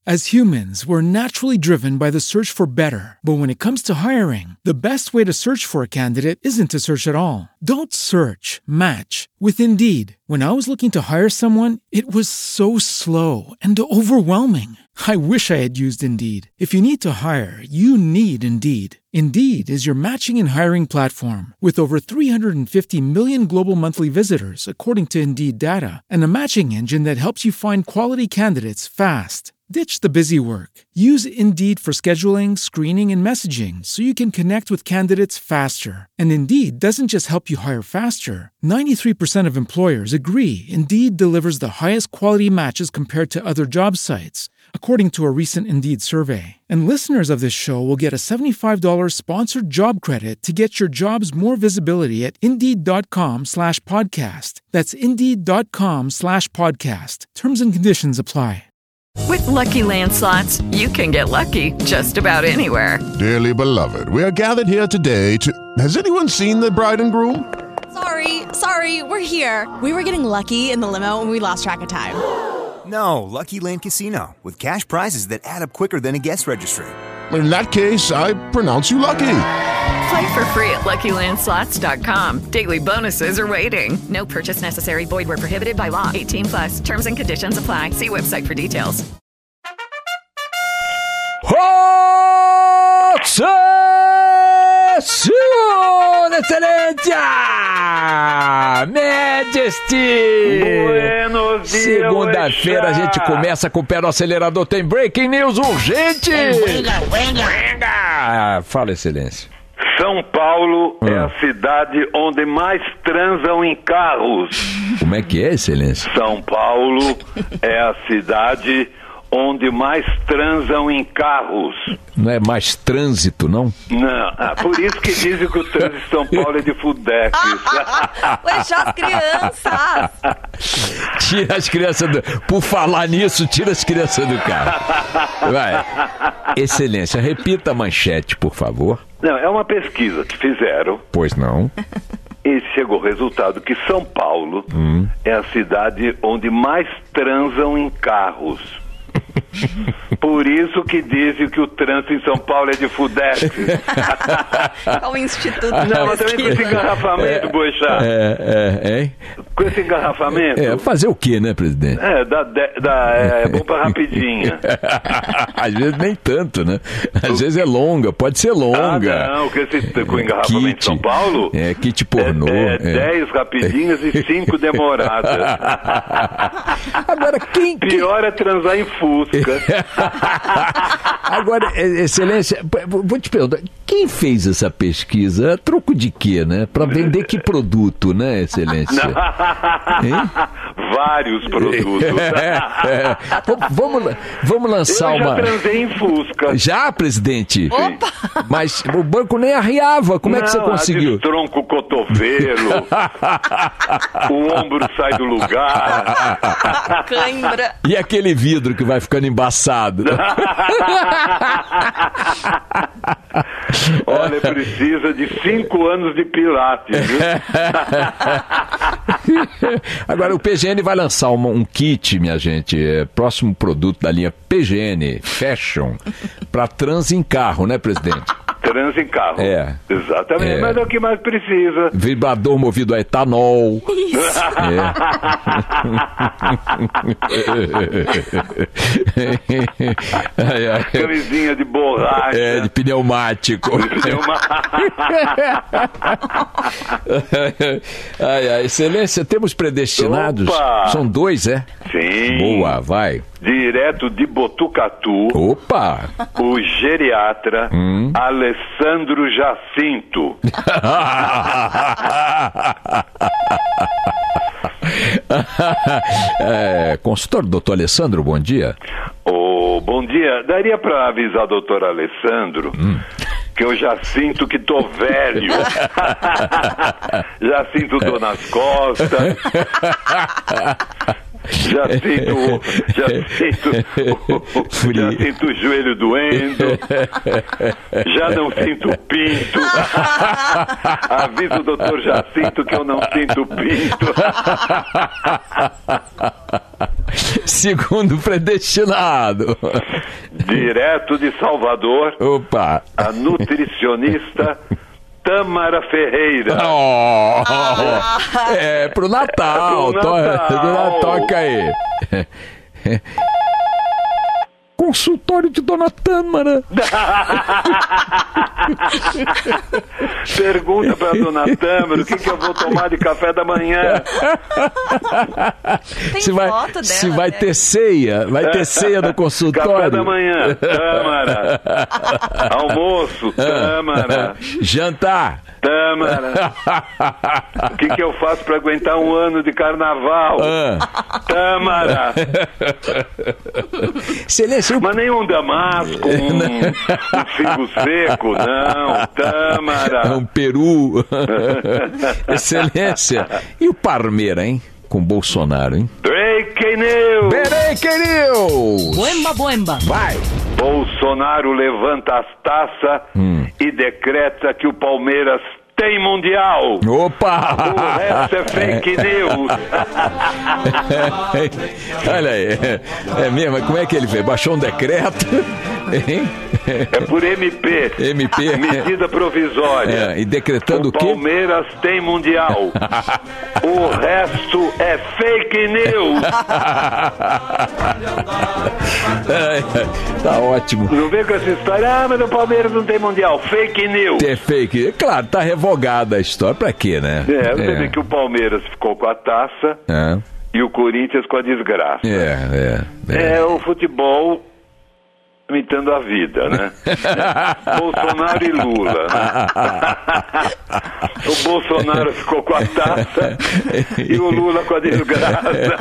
As humans, we're naturally driven by the search for better. But when it comes to hiring, the best way to search for a candidate isn't to search at all. Don't search, match with Indeed. When I was looking to hire someone, it was so slow and overwhelming. I wish I had used Indeed. If you need to hire, you need Indeed. Indeed is your matching and hiring platform with over 350 million global monthly visitors, according to Indeed data, and a matching engine that helps you find quality candidates fast. Ditch the busy work. Use Indeed for scheduling, screening, and messaging so you can connect with candidates faster. And Indeed doesn't just help you hire faster. 93% of employers agree Indeed delivers the highest quality matches compared to other job sites, according to a recent Indeed survey. And listeners of this show will get a $75 sponsored job credit to get your jobs more visibility at Indeed.com/podcast. That's Indeed.com/podcast. Terms and conditions apply. With Lucky Land Slots, you can get lucky just about anywhere. Dearly beloved, we are gathered here today to... Has anyone seen the bride and groom? Sorry, we're here. We were getting lucky in the limo and we lost track of time. No, Lucky Land Casino, with cash prizes that add up quicker than a guest registry. In that case, I pronounce you lucky. Play for free at LuckyLandSlots.com. Daily bonuses are waiting. No purchase necessary. Void where prohibited by law. 18+. Terms and conditions apply. See website for details. Sua Excelência! Majesty! Buenos dias, segunda-feira a gente começa com o pé no acelerador. Tem breaking news urgente! Fala, Excelência. São Paulo é a cidade onde mais transam em carros. Como é que é, Excelência? São Paulo é a cidade onde mais transam em carros. Não é mais trânsito, não? Não, por isso que dizem que o trânsito de São Paulo é de fudex. Deixa as crianças. Tira as crianças do... Por falar nisso, tira as crianças do carro. Vai. Excelência, repita a manchete, por favor. Não, é uma pesquisa que fizeram. Pois não. E chegou o resultado que São Paulo é a cidade onde mais transam em carros. Por isso que dizem que o trânsito em São Paulo é de fudex. O Instituto Não, mas também com esse engarrafamento, Boixá. Com esse engarrafamento. Fazer o quê, né, presidente? É bom pra rapidinha. Às vezes nem tanto, né? Às vezes é longa, pode ser longa. Não, com engarrafamento de São Paulo... Kit pornô. 10 rapidinhas e 5 demoradas. Agora, Pior é transar em Fusca. Agora, Excelência, vou te perguntar, quem fez essa pesquisa? A troco de quê, né? Para vender que produto, né, Excelência? Vários produtos. Vamos lançar Eu já transei em Fusca. Já, presidente? Opa! Mas o banco nem arriava, como é que você conseguiu? Tronco o cotovelo, o ombro sai do lugar. Cãibra. E aquele vidro que vai ficando embaçado? Olha, precisa de 5 anos de pilates, viu? Agora, o PGN vai lançar um kit, minha gente, próximo produto da linha PGN Fashion, para trans em carro, né, presidente? Trans em carro. Exatamente, mas é o que mais precisa. Vibrador movido a etanol. Isso. Camisinha de borracha. De pneumático. Excelência, temos predestinados? Opa! São 2, é? Sim. Boa, vai. Direto de Botucatu. Opa! O geriatra Alessandro Jacinto. Consultor, doutor Alessandro, bom dia. Bom dia. Daria para avisar o doutor Alessandro que eu já sinto que tô velho. Já sinto dor nas costas. Já sinto o joelho doendo. Já não sinto pinto. Avisa o doutor Jacinto que eu não sinto pinto. Segundo predestinado. Direto de Salvador, Opa. a nutricionista Tâmara Ferreira. É pro Natal. É pro Natal. Toca aí. Consultório de Dona Tâmara. Pergunta pra Dona Tâmara o que eu vou tomar de café da manhã. Tem Se foto dela, se vai né? ter ceia. Vai ter ceia no consultório. Café da manhã, Tâmara. Almoço, Tâmara. Jantar. Tâmara. O que eu faço pra aguentar um ano de carnaval? Tâmara. Excelência. Mas nenhum damasco, um figo seco, não. Tâmara. Um peru. Excelência. E o Parmeira, hein? Com Bolsonaro, hein? Breaking news. Breaking news. Buemba. Vai. Bolsonaro levanta as taças e decreta que o Palmeiras tem Mundial. Opa! O resto é fake news. Olha aí. É mesmo? Como é que ele fez? Baixou um decreto? Hein? É por MP. MP. Medida provisória. E decretando o quê? Palmeiras tem Mundial. O resto é fake news. Tá ótimo. Não vem com essa história, mas o Palmeiras não tem Mundial. Fake news. É fake. Claro, tá revogada a história. Pra quê, né? Você vê que o Palmeiras ficou com a taça e o Corinthians com a desgraça. É o futebol imitando a vida, né? Bolsonaro e Lula, né? O Bolsonaro ficou com a taça e o Lula com a desgraça.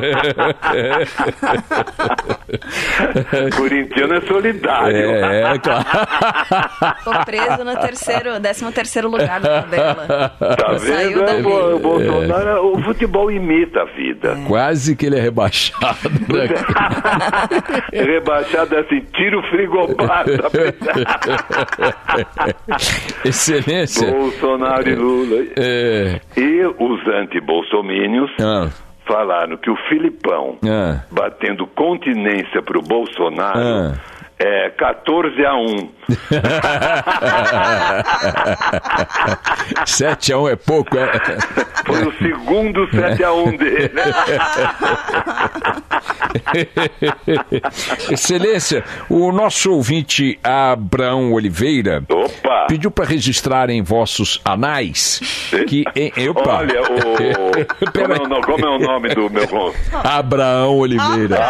Corintiano é solidário. Claro. Ficou preso no 13º lugar da tabela. Tá Saiu vendo? dali. O Bolsonaro, o futebol imita a vida. Quase que ele é rebaixado, né? Rebaixado assim, tira o frigobar. Excelência. Bolsonaro e Lula. E os anti-bolsomínios falaram que o Filipão batendo continência pro Bolsonaro é 14-1. 7-1 é pouco, é? Foi o segundo 7-1 dele. Excelência, o nosso ouvinte Abraão Oliveira pediu para registrar em vossos anais que... Olha, como é o nome do meu... Abraão Oliveira.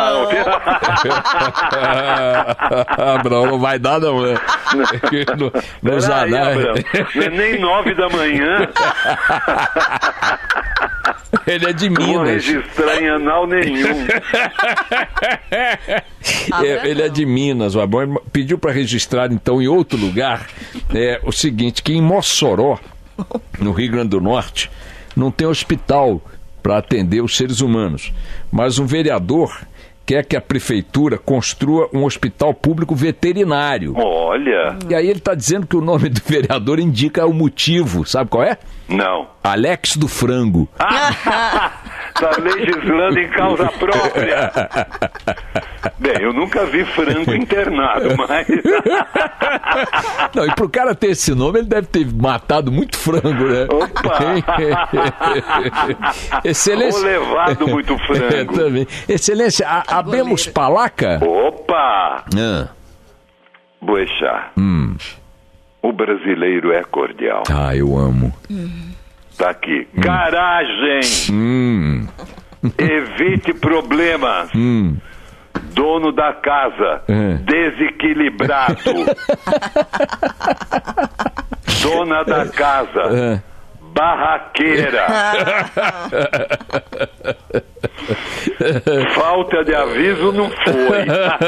Abraão não vai dar não, né? Nos anais. Não é nem 9 da manhã. Ele é de Minas. Não registrar em anal nenhum. Ele é de Minas. O Abraão pediu para registrar então em outro lugar o seguinte, que em Mossoró, no Rio Grande do Norte, não tem hospital para atender os seres humanos, mas um vereador quer que a prefeitura construa um hospital público veterinário. Olha. E aí ele está dizendo que o nome do vereador indica o motivo. Sabe qual é? Não. Alex do Frango. Está legislando em causa própria. Bem, eu nunca vi frango internado, mas... Não, e pro cara ter esse nome, ele deve ter matado muito frango, né? Opa! Excelência... Ou levado muito frango. Também. Excelência, abemos palaca? Opa! Boechat. O brasileiro é cordial. Ah, eu amo. Tá aqui. Garagem. Evite problemas. Dono da casa. Desequilibrado. Dona da casa. Barraqueira. Falta de aviso não foi.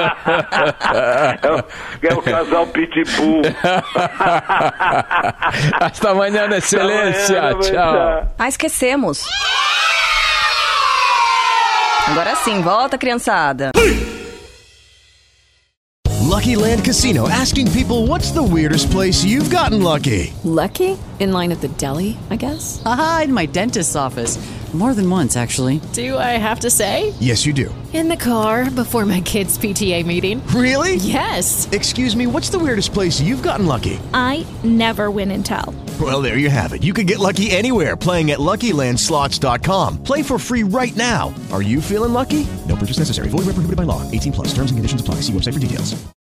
É o casal Pitbull. Hasta amanhã, excelência. Tchau. Esquecemos. Agora sim, volta, criançada. Lucky Land Casino, asking people, what's the weirdest place you've gotten lucky? Lucky? In line at the deli, I guess? Aha, in my dentist's office. More than once, actually. Do I have to say? Yes, you do. In the car before my kids' PTA meeting. Really? Yes. Excuse me, what's the weirdest place you've gotten lucky? I never win and tell. Well, there you have it. You can get lucky anywhere, playing at LuckyLandSlots.com. Play for free right now. Are you feeling lucky? No purchase necessary. Void where prohibited by law. 18+. Terms and conditions apply. See website for details.